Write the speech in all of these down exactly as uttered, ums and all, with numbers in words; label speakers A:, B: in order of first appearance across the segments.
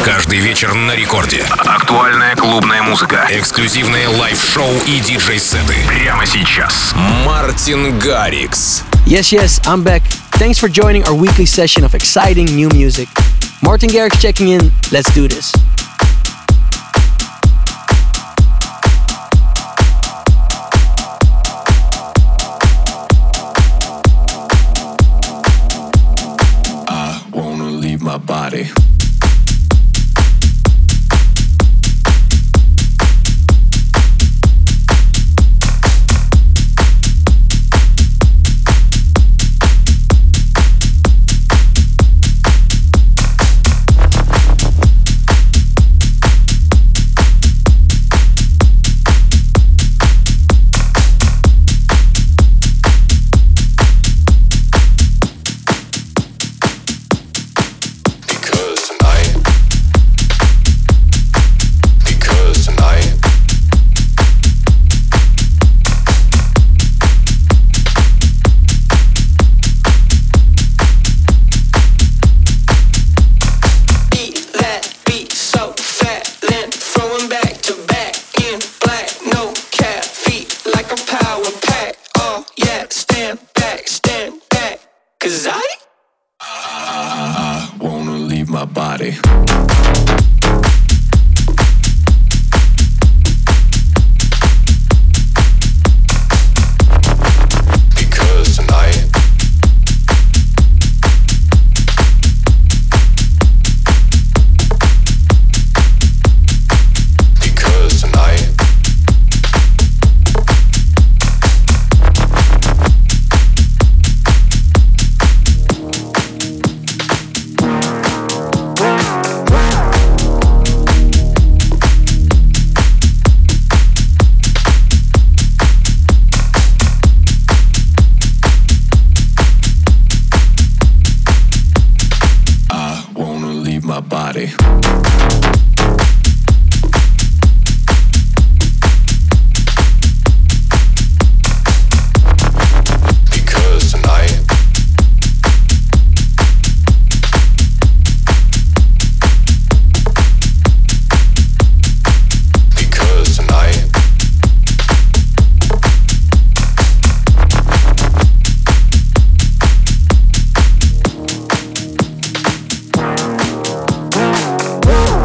A: Каждый вечер на рекорде. Актуальная клубная музыка, эксклюзивные лайв-шоу и диджей-сеты. Прямо сейчас. Мартин Гаррикс.
B: Yes, yes, I'm back. Thanks for joining our weekly session of exciting new music. Martin Garrix checking in. Let's do this.
C: I wanna leave my body.
D: Woo!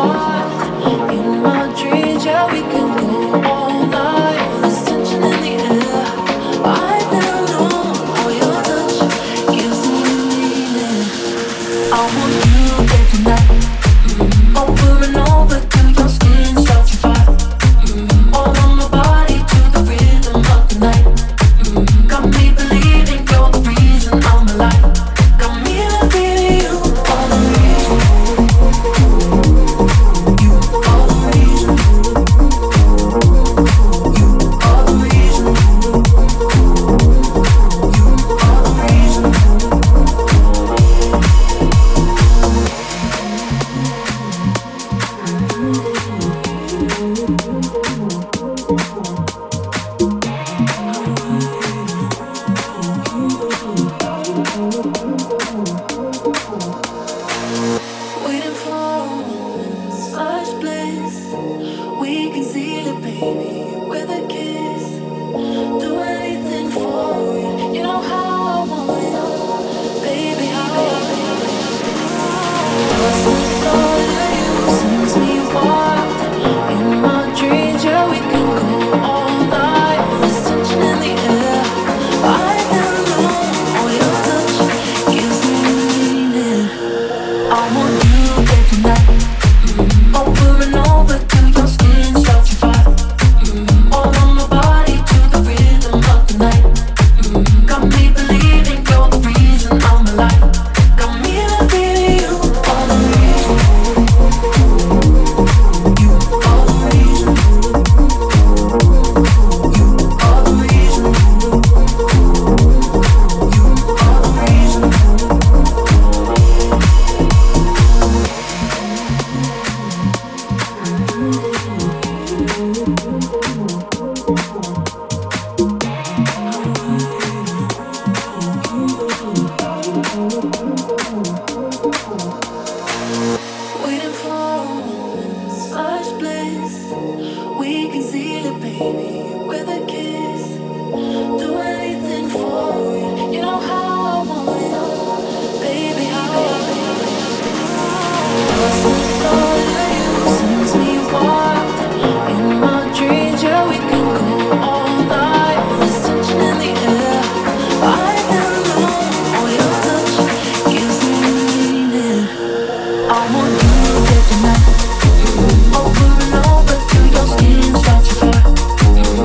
D: Over and over till your skin starts to fire.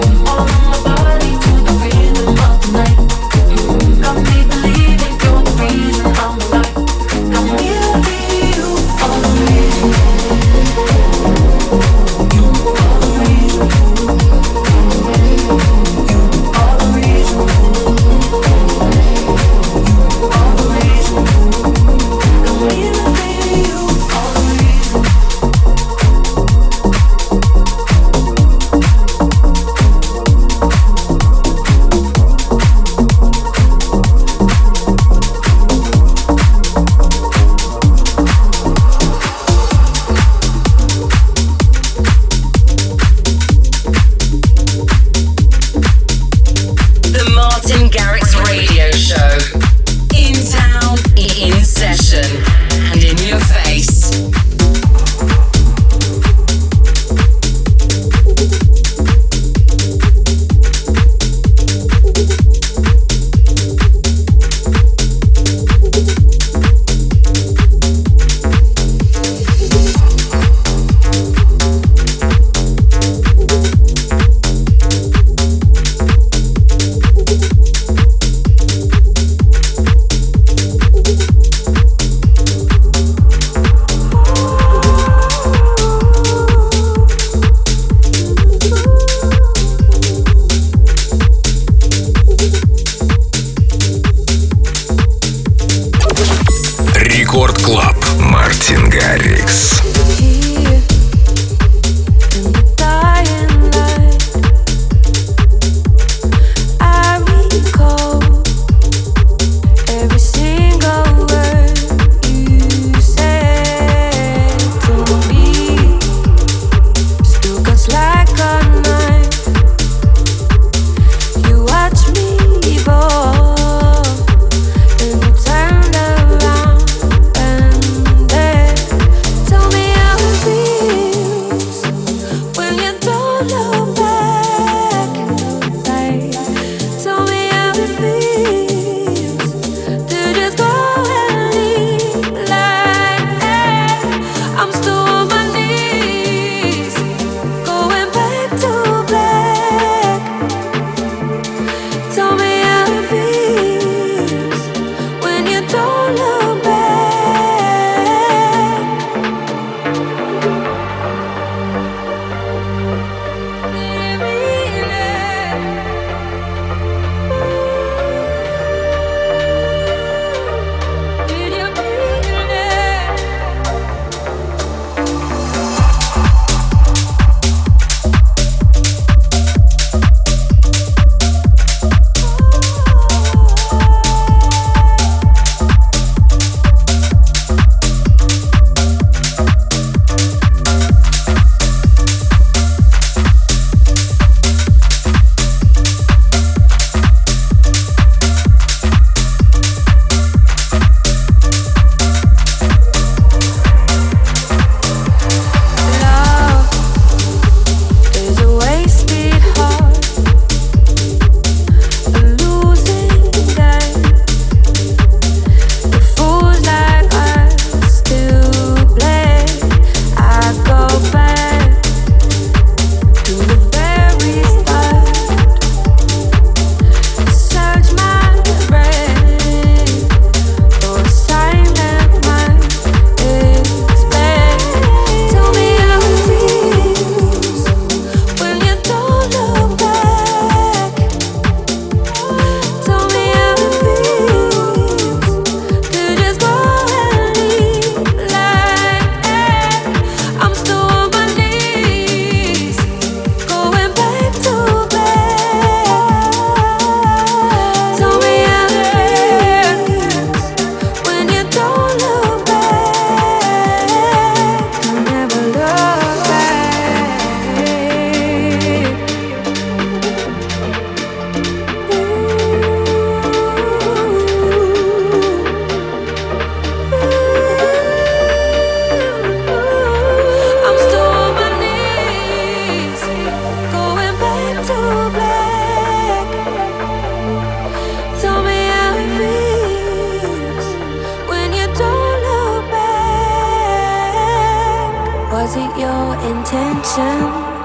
D: Was it your intention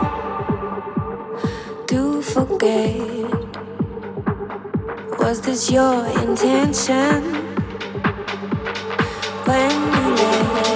D: to forget? Was this your intention when you left?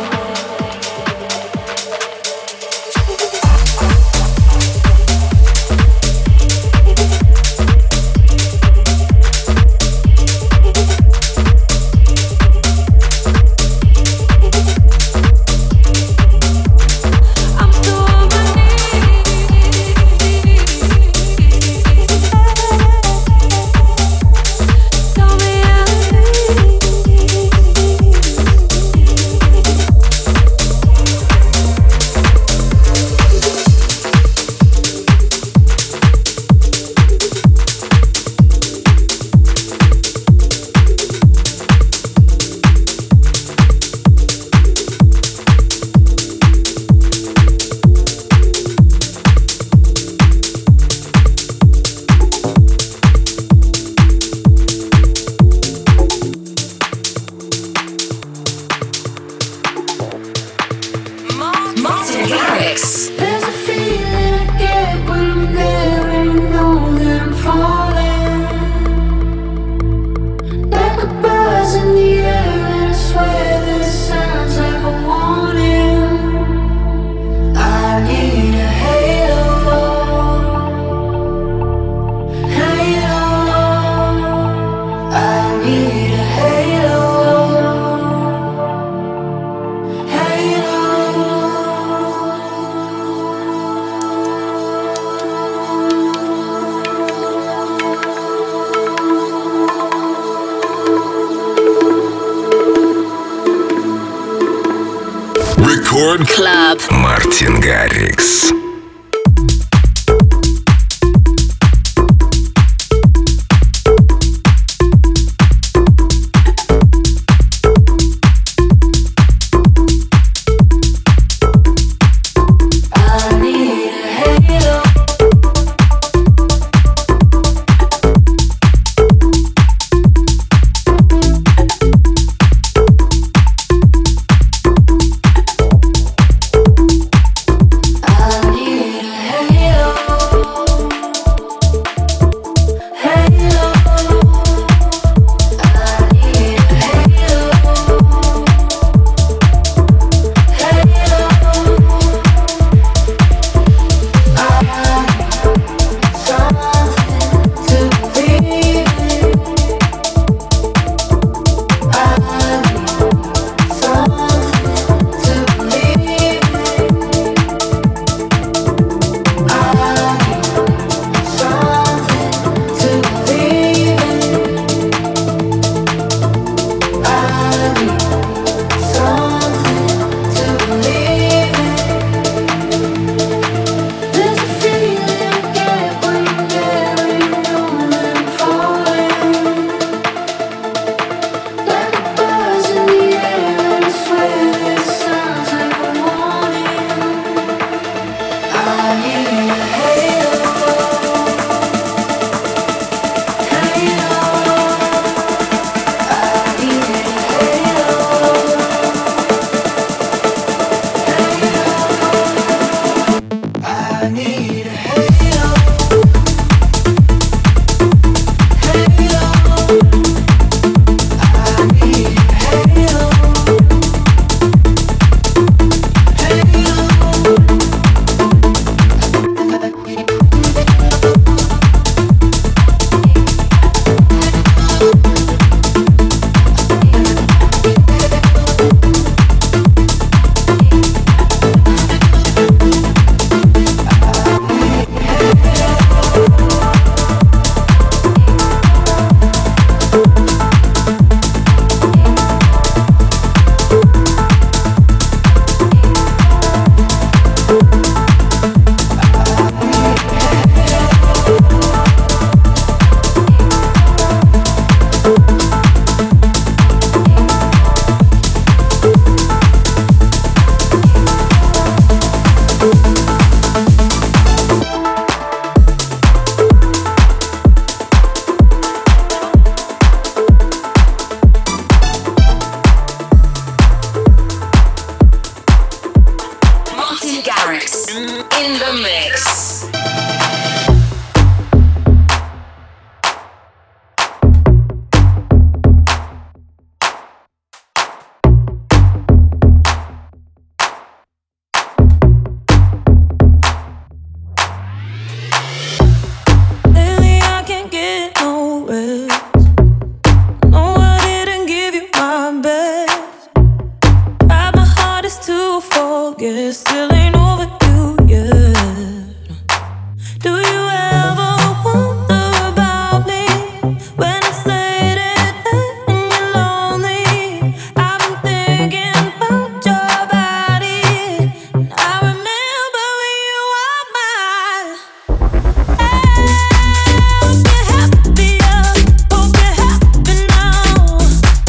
A: Club. Мартин Гаррикс.
D: I need
E: in the mix.
F: Still ain't over you yet. Do you ever wonder about me when it's late at night and you're lonely? I've been thinking about your body, and I remember when you were mine. Hope you're happier, hope you're happy now.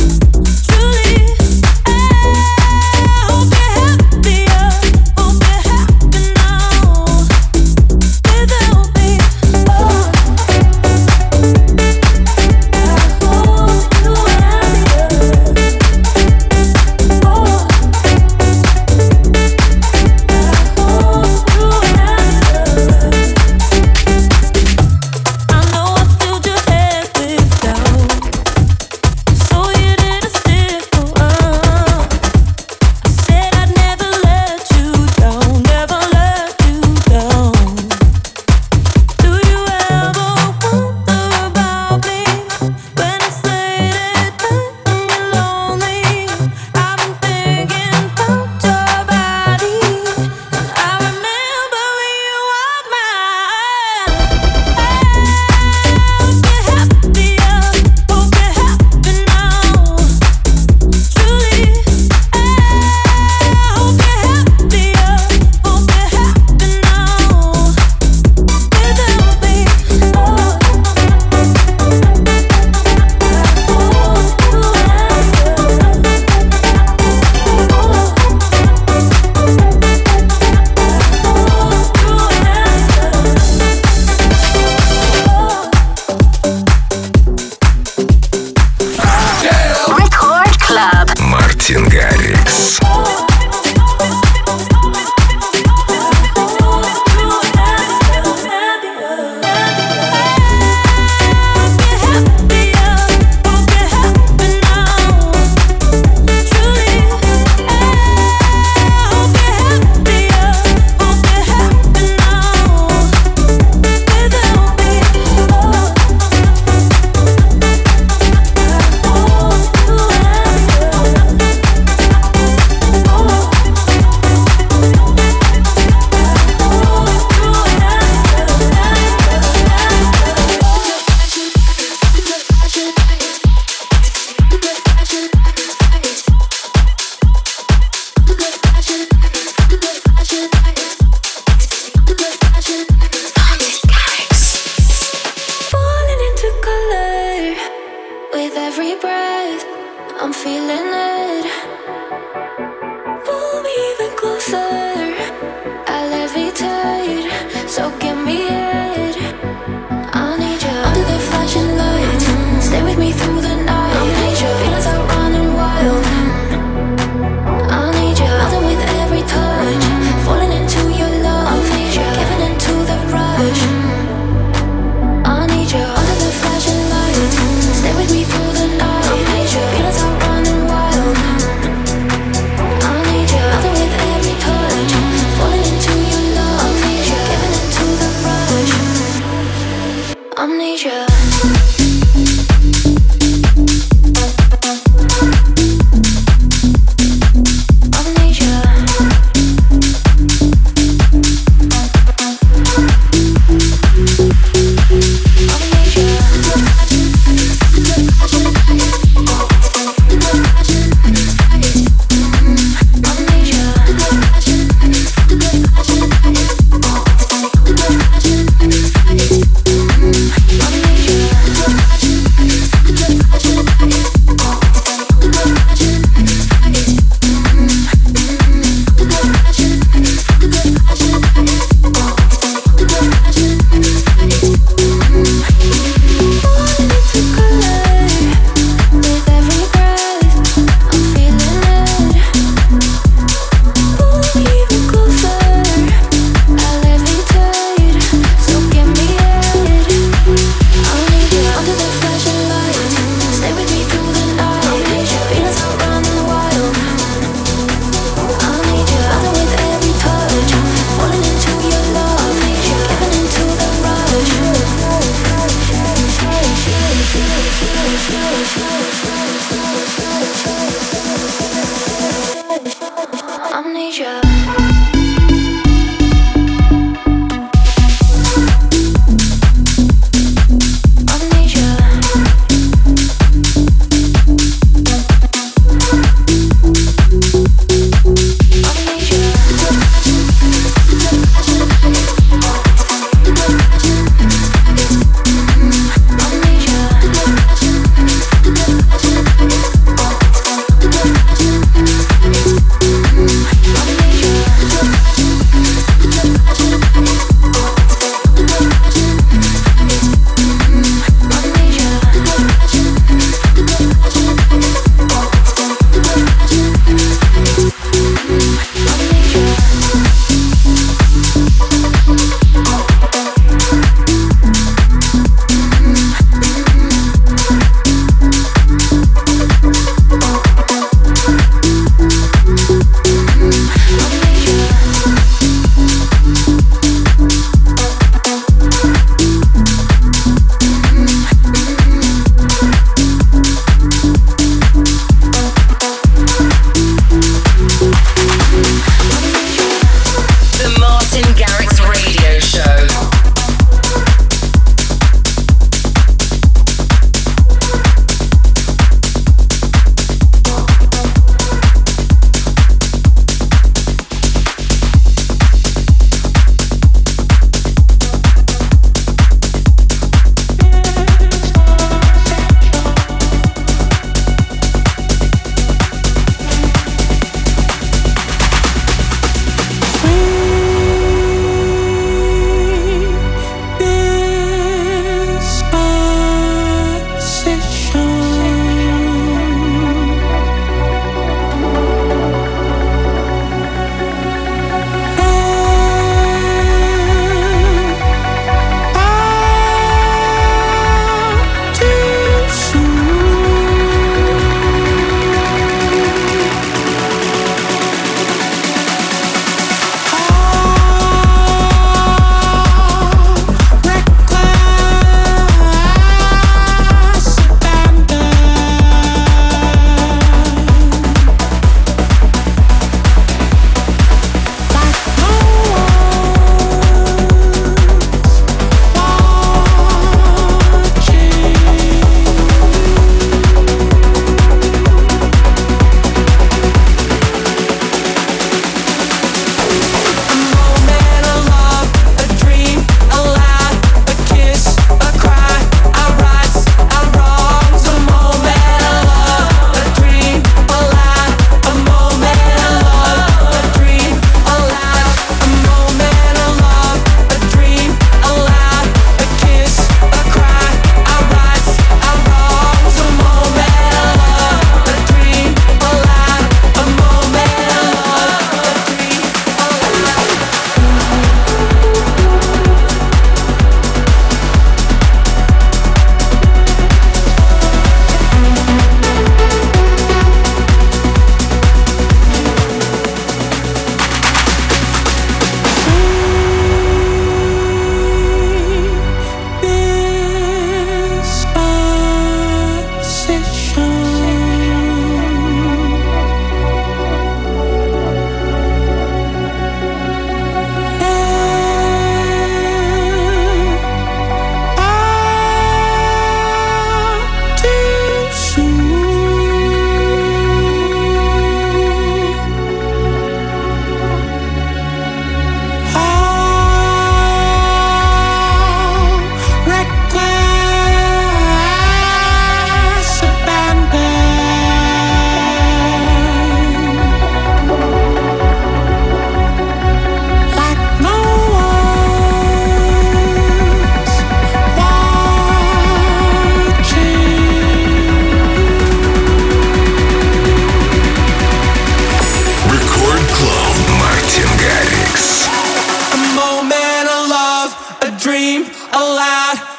F: Truly, I hope you're happier. Hope you're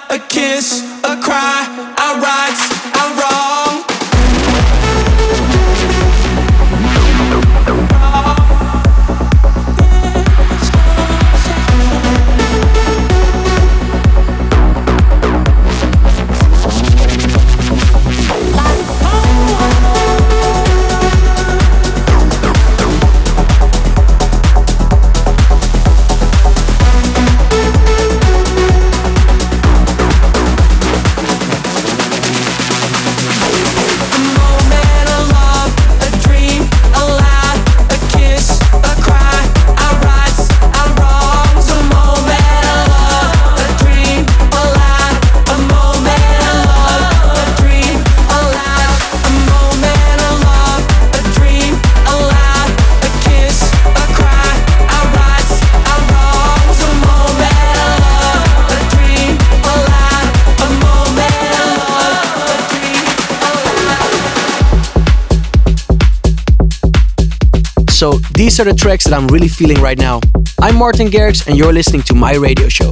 G: a kiss, a cry, our rights, our wrong.
B: So these are the tracks that I'm really feeling right now. I'm Martin Garrix and you're listening to my radio show.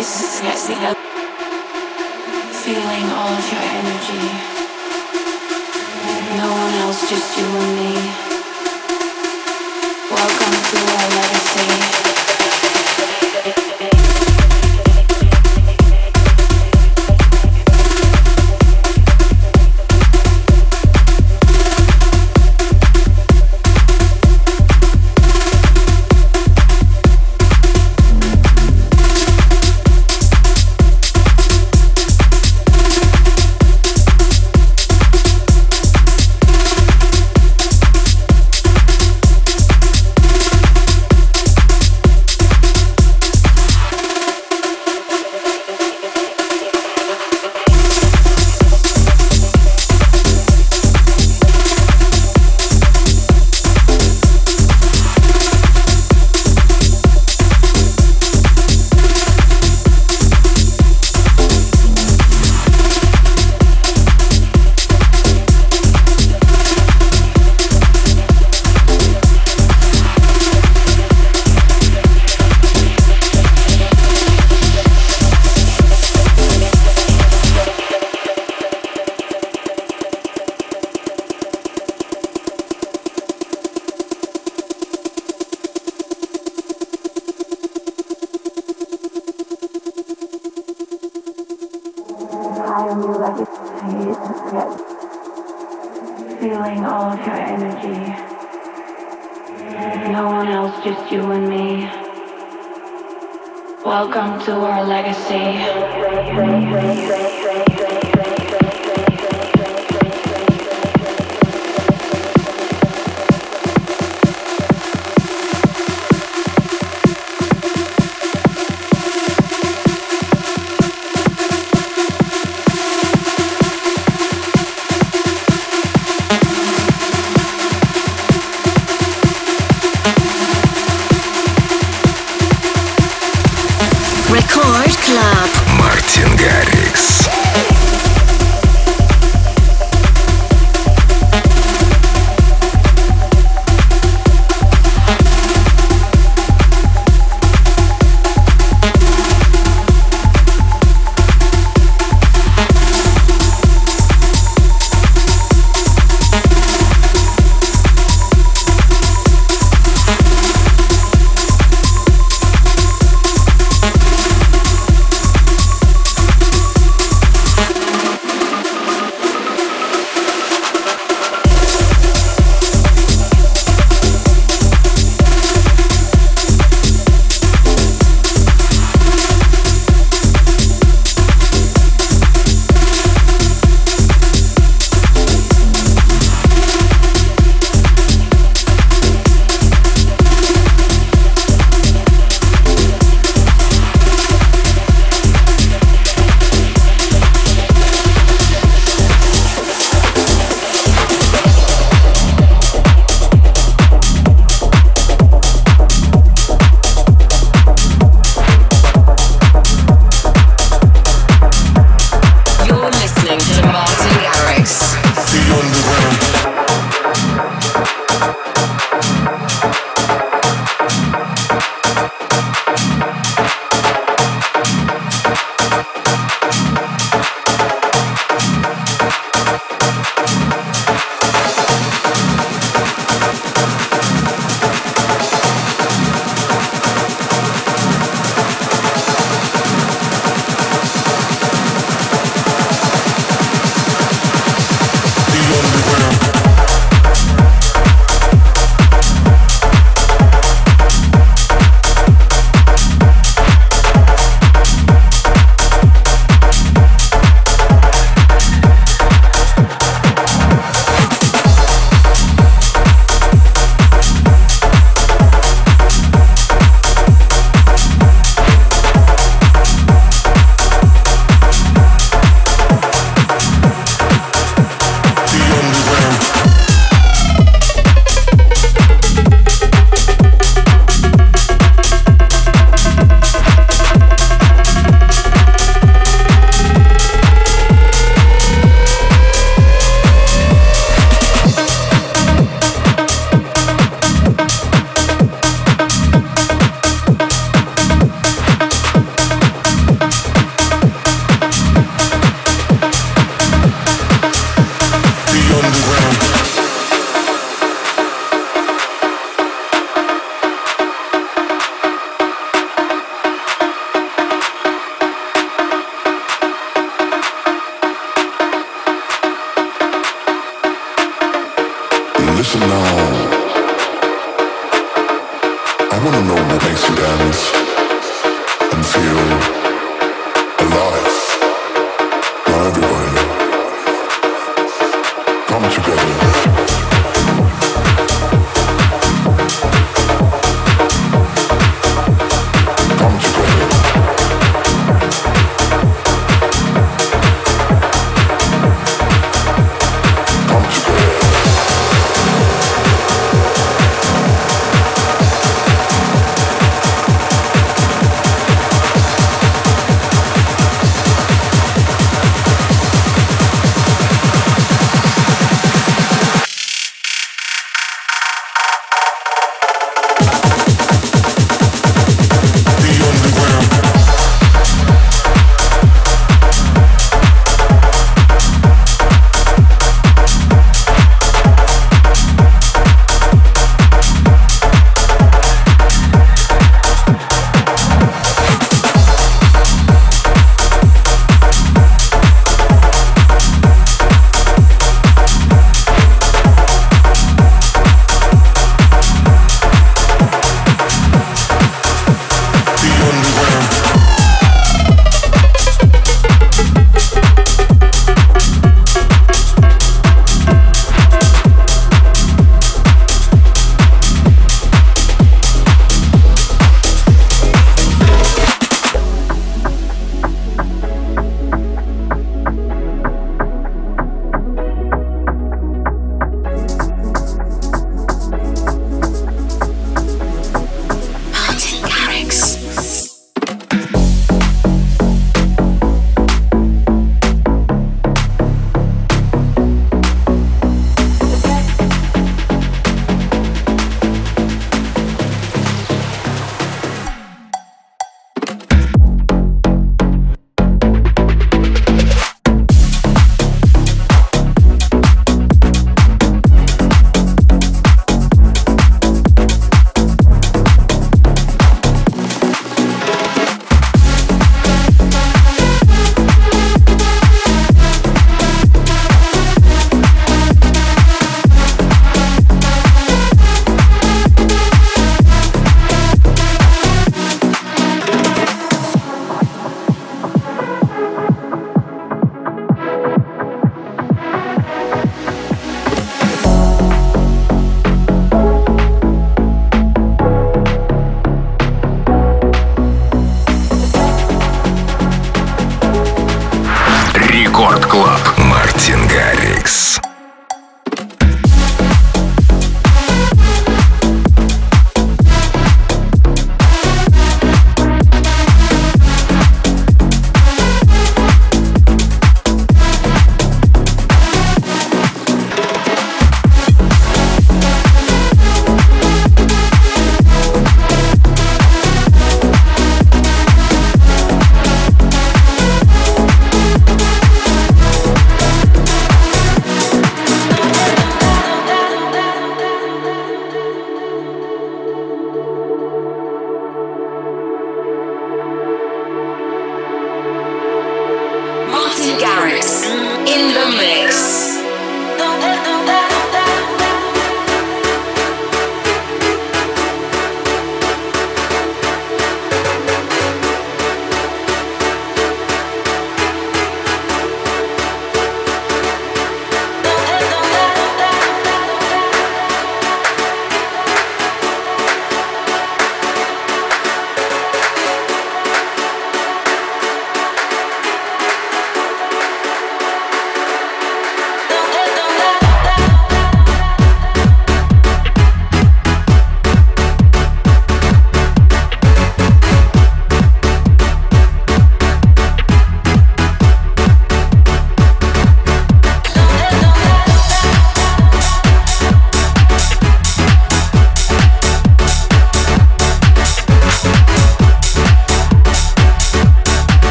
H: Feeling all of your energy. No one else, just you and me. Welcome to our legacy. Feeling all of your energy. No one else, just you and me. Welcome to our legacy.
E: Record Club.
A: Мартин Гаррикс.
I: The underground.
C: Listen now. I wanna know what makes you dance and feel alive. Now everybody, come together. Come together. Come together.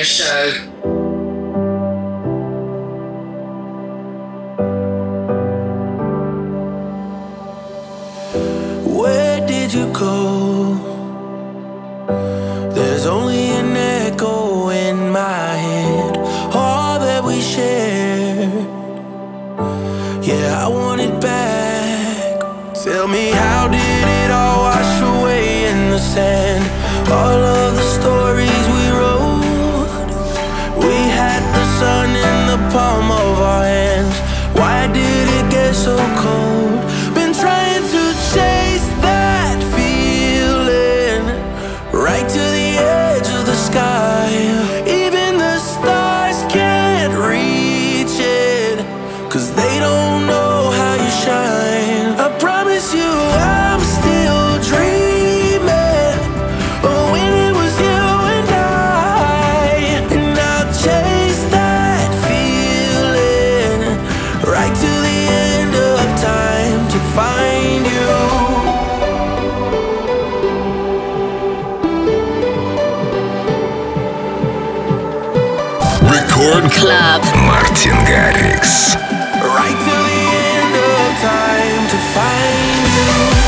E: radio show.
G: Where did you go? There's only an echo in my head. All that we shared, yeah, I want it back. Tell me, how did it all wash away in the sand? All of the stories we wrote, we had the sun in the palm of our hands. Why did it get so cold? Been trying to chase that feeling right to the edge of the sky. Even the stars can't reach it, 'cause they don't know how you shine. I promise you I'm still dreaming of when it was you and I. And I'll chase that feeling right to the end of time to find you.
A: Record
E: Club.
A: Мартин Гаррикс.
G: Right to the end of time to find you.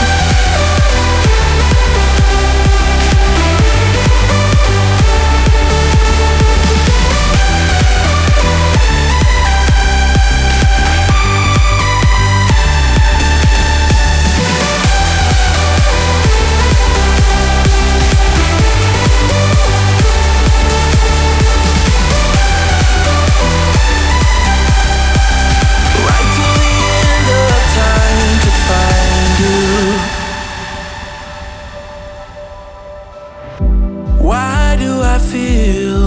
G: Right to the end of time to find you. Why do I feel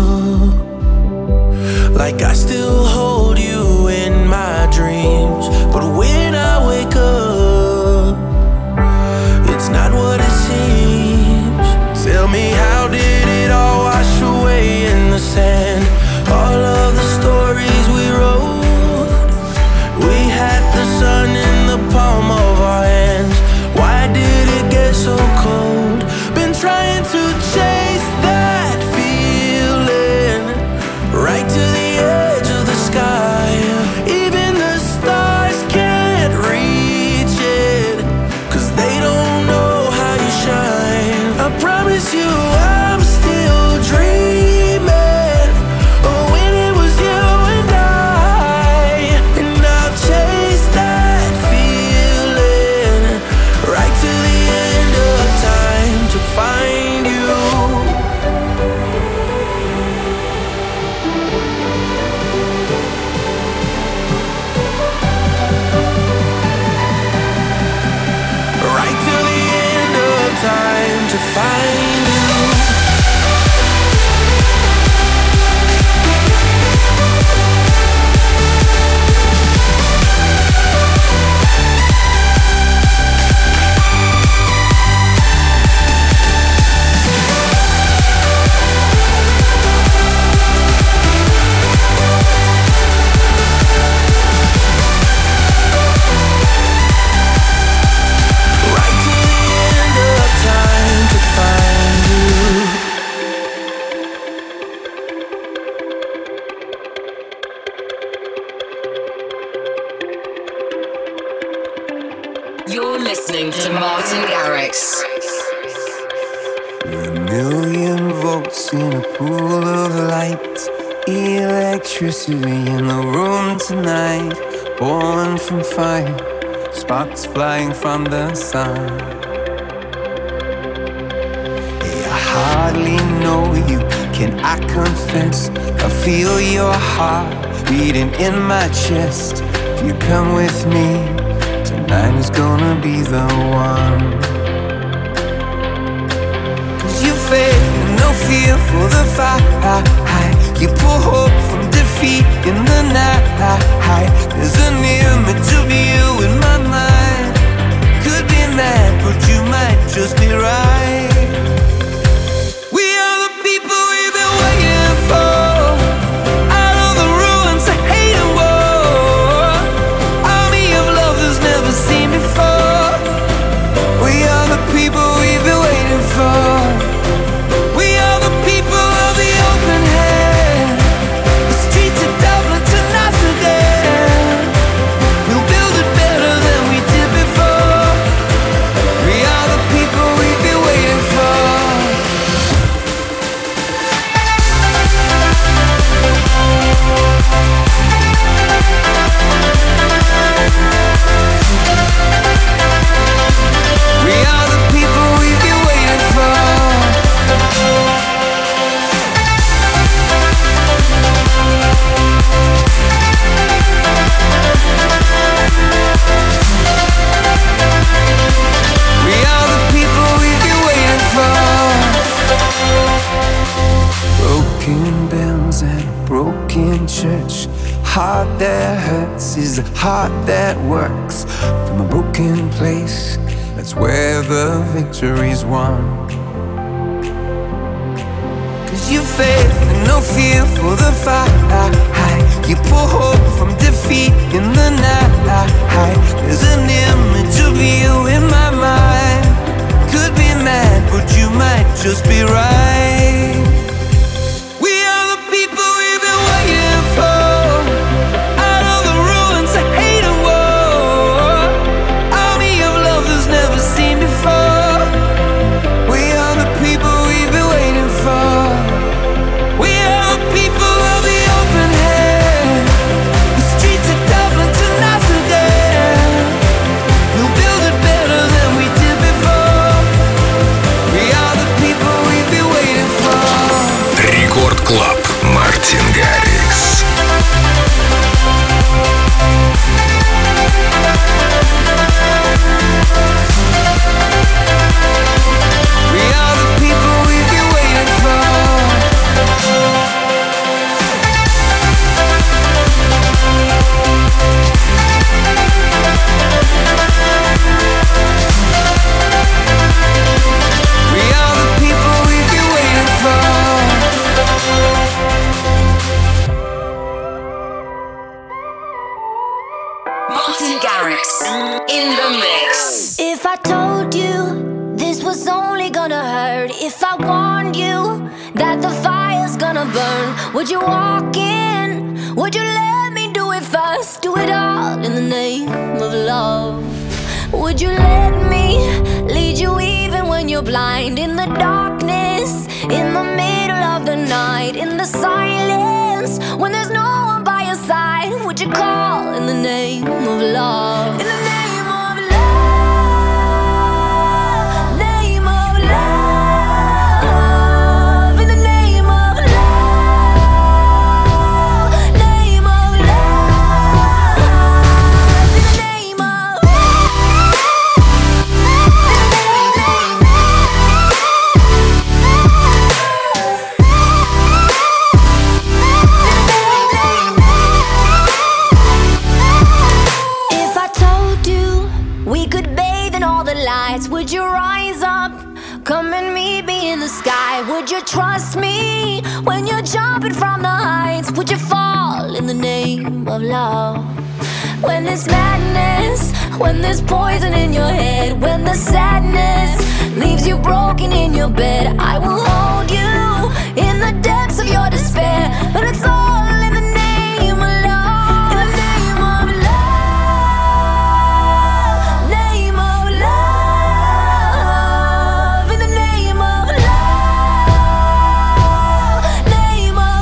G: like I still hold you in my dreams? But when I wake up, it's not what it seems. Tell me, how did it all wash away in the sand? All of the stories we wrote, we had the sun in the palm of our hands. Why did it get so cold? Been trying to chase that feeling right to the edge of the sky. Even the stars can't reach it, 'cause they don't know how you shine. I promise you I'm still dreaming of when it was you and I. And I'll chase that feeling right to the end of time to find you. Right to the end of time to find you. Right to the end of time to find you.
E: You're listening to Martin Garrix.
I: A million volts in a pool of light, electricity in the room tonight, born from fire, sparks flying from the sun. Hey, I hardly know you, can I confess? I feel your heart beating in my chest. If you come with me, tonight is gonna be the one. You faith and no fear for the fight. You pull hope from defeat in the night. There's an image of you in my mind. Could be mad, but you might just be right. We are the people we've been waiting for. Out of the ruins of hate and war, army of love that's never seen before. We are the people we've been waiting for. We are the people of the open hand. in church. Heart that hurts is a heart that works. From a broken place, that's where the victory's won. Cause you faith and no fear for the fight. You pull hope from defeat in the night. There's an image of you in my mind. Could be mad, but you might just be right. We are the people we've been waiting for. Out of the ruins of hate and war, army of love that's never seen before. We are the people we've been waiting for. We are the people of the open hand. The streets of Dublin to Amsterdam. We'll build it better than we did before. We are the people we've been waiting for.
A: Рекорд Клаб. Мартин Гаррикс.
I: We are the people we've been waiting for. We are the people we've been waiting for.
E: Martin Garrix in the mix.
F: If I told you this was only gonna hurt, if I warned you that the fire's gonna burn, would you walk in? Would you let me do it first? Do it all in the name of love. Would you let me lead you even when you're blind? In the darkness, in the middle of the night, in the silence, when there's no one by your side, would you call in the name of love? In the name of love, name of love, in the name of love, name of love, in the name of If I told you we could bathe in all the lights, would you rise up? Come and meet me in the sky. Would you trust me when you're jumping from the heights? Would you fall in the name of love? When there's madness, when there's poison in your head, when the sadness leaves you broken in your bed, I will hold you in the depths of your despair. But it's all in the name of love. In the name of love, name of love, in the name of love, name of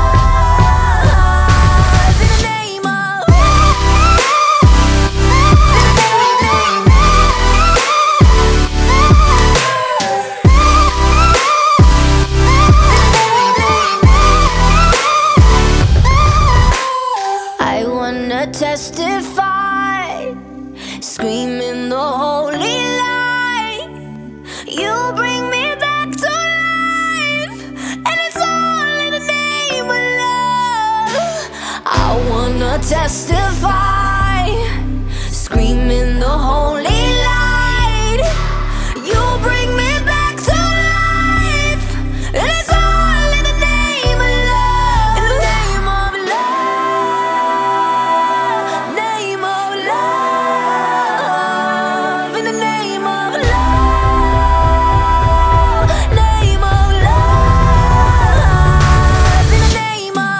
F: love, in the name of I wanna testify, screaming the holy light. You bring me back to life, and it's all in the name of love. I wanna testify, screaming the holy light. You bring me back to life, and it's all in the name of love. In the name of love, name of love, in the name of love, name of love, in the name of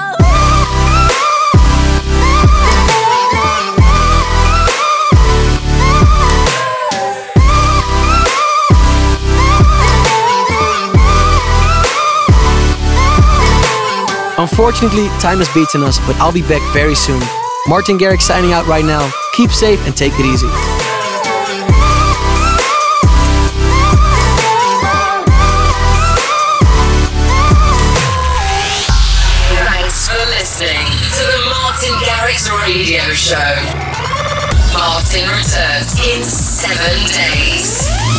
B: Unfortunately, time has beaten us, but I'll be back very soon. Martin Garrix signing out right now. Keep safe and take it easy.
E: Thanks for listening to the Martin Garrix Radio Show. Martin returns in seven days.